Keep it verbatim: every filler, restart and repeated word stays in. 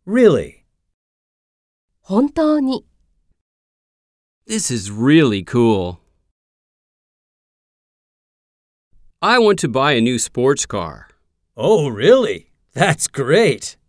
Really? 本当に。 This is really cool. I want to buy a new sports car. Oh, really? That's great.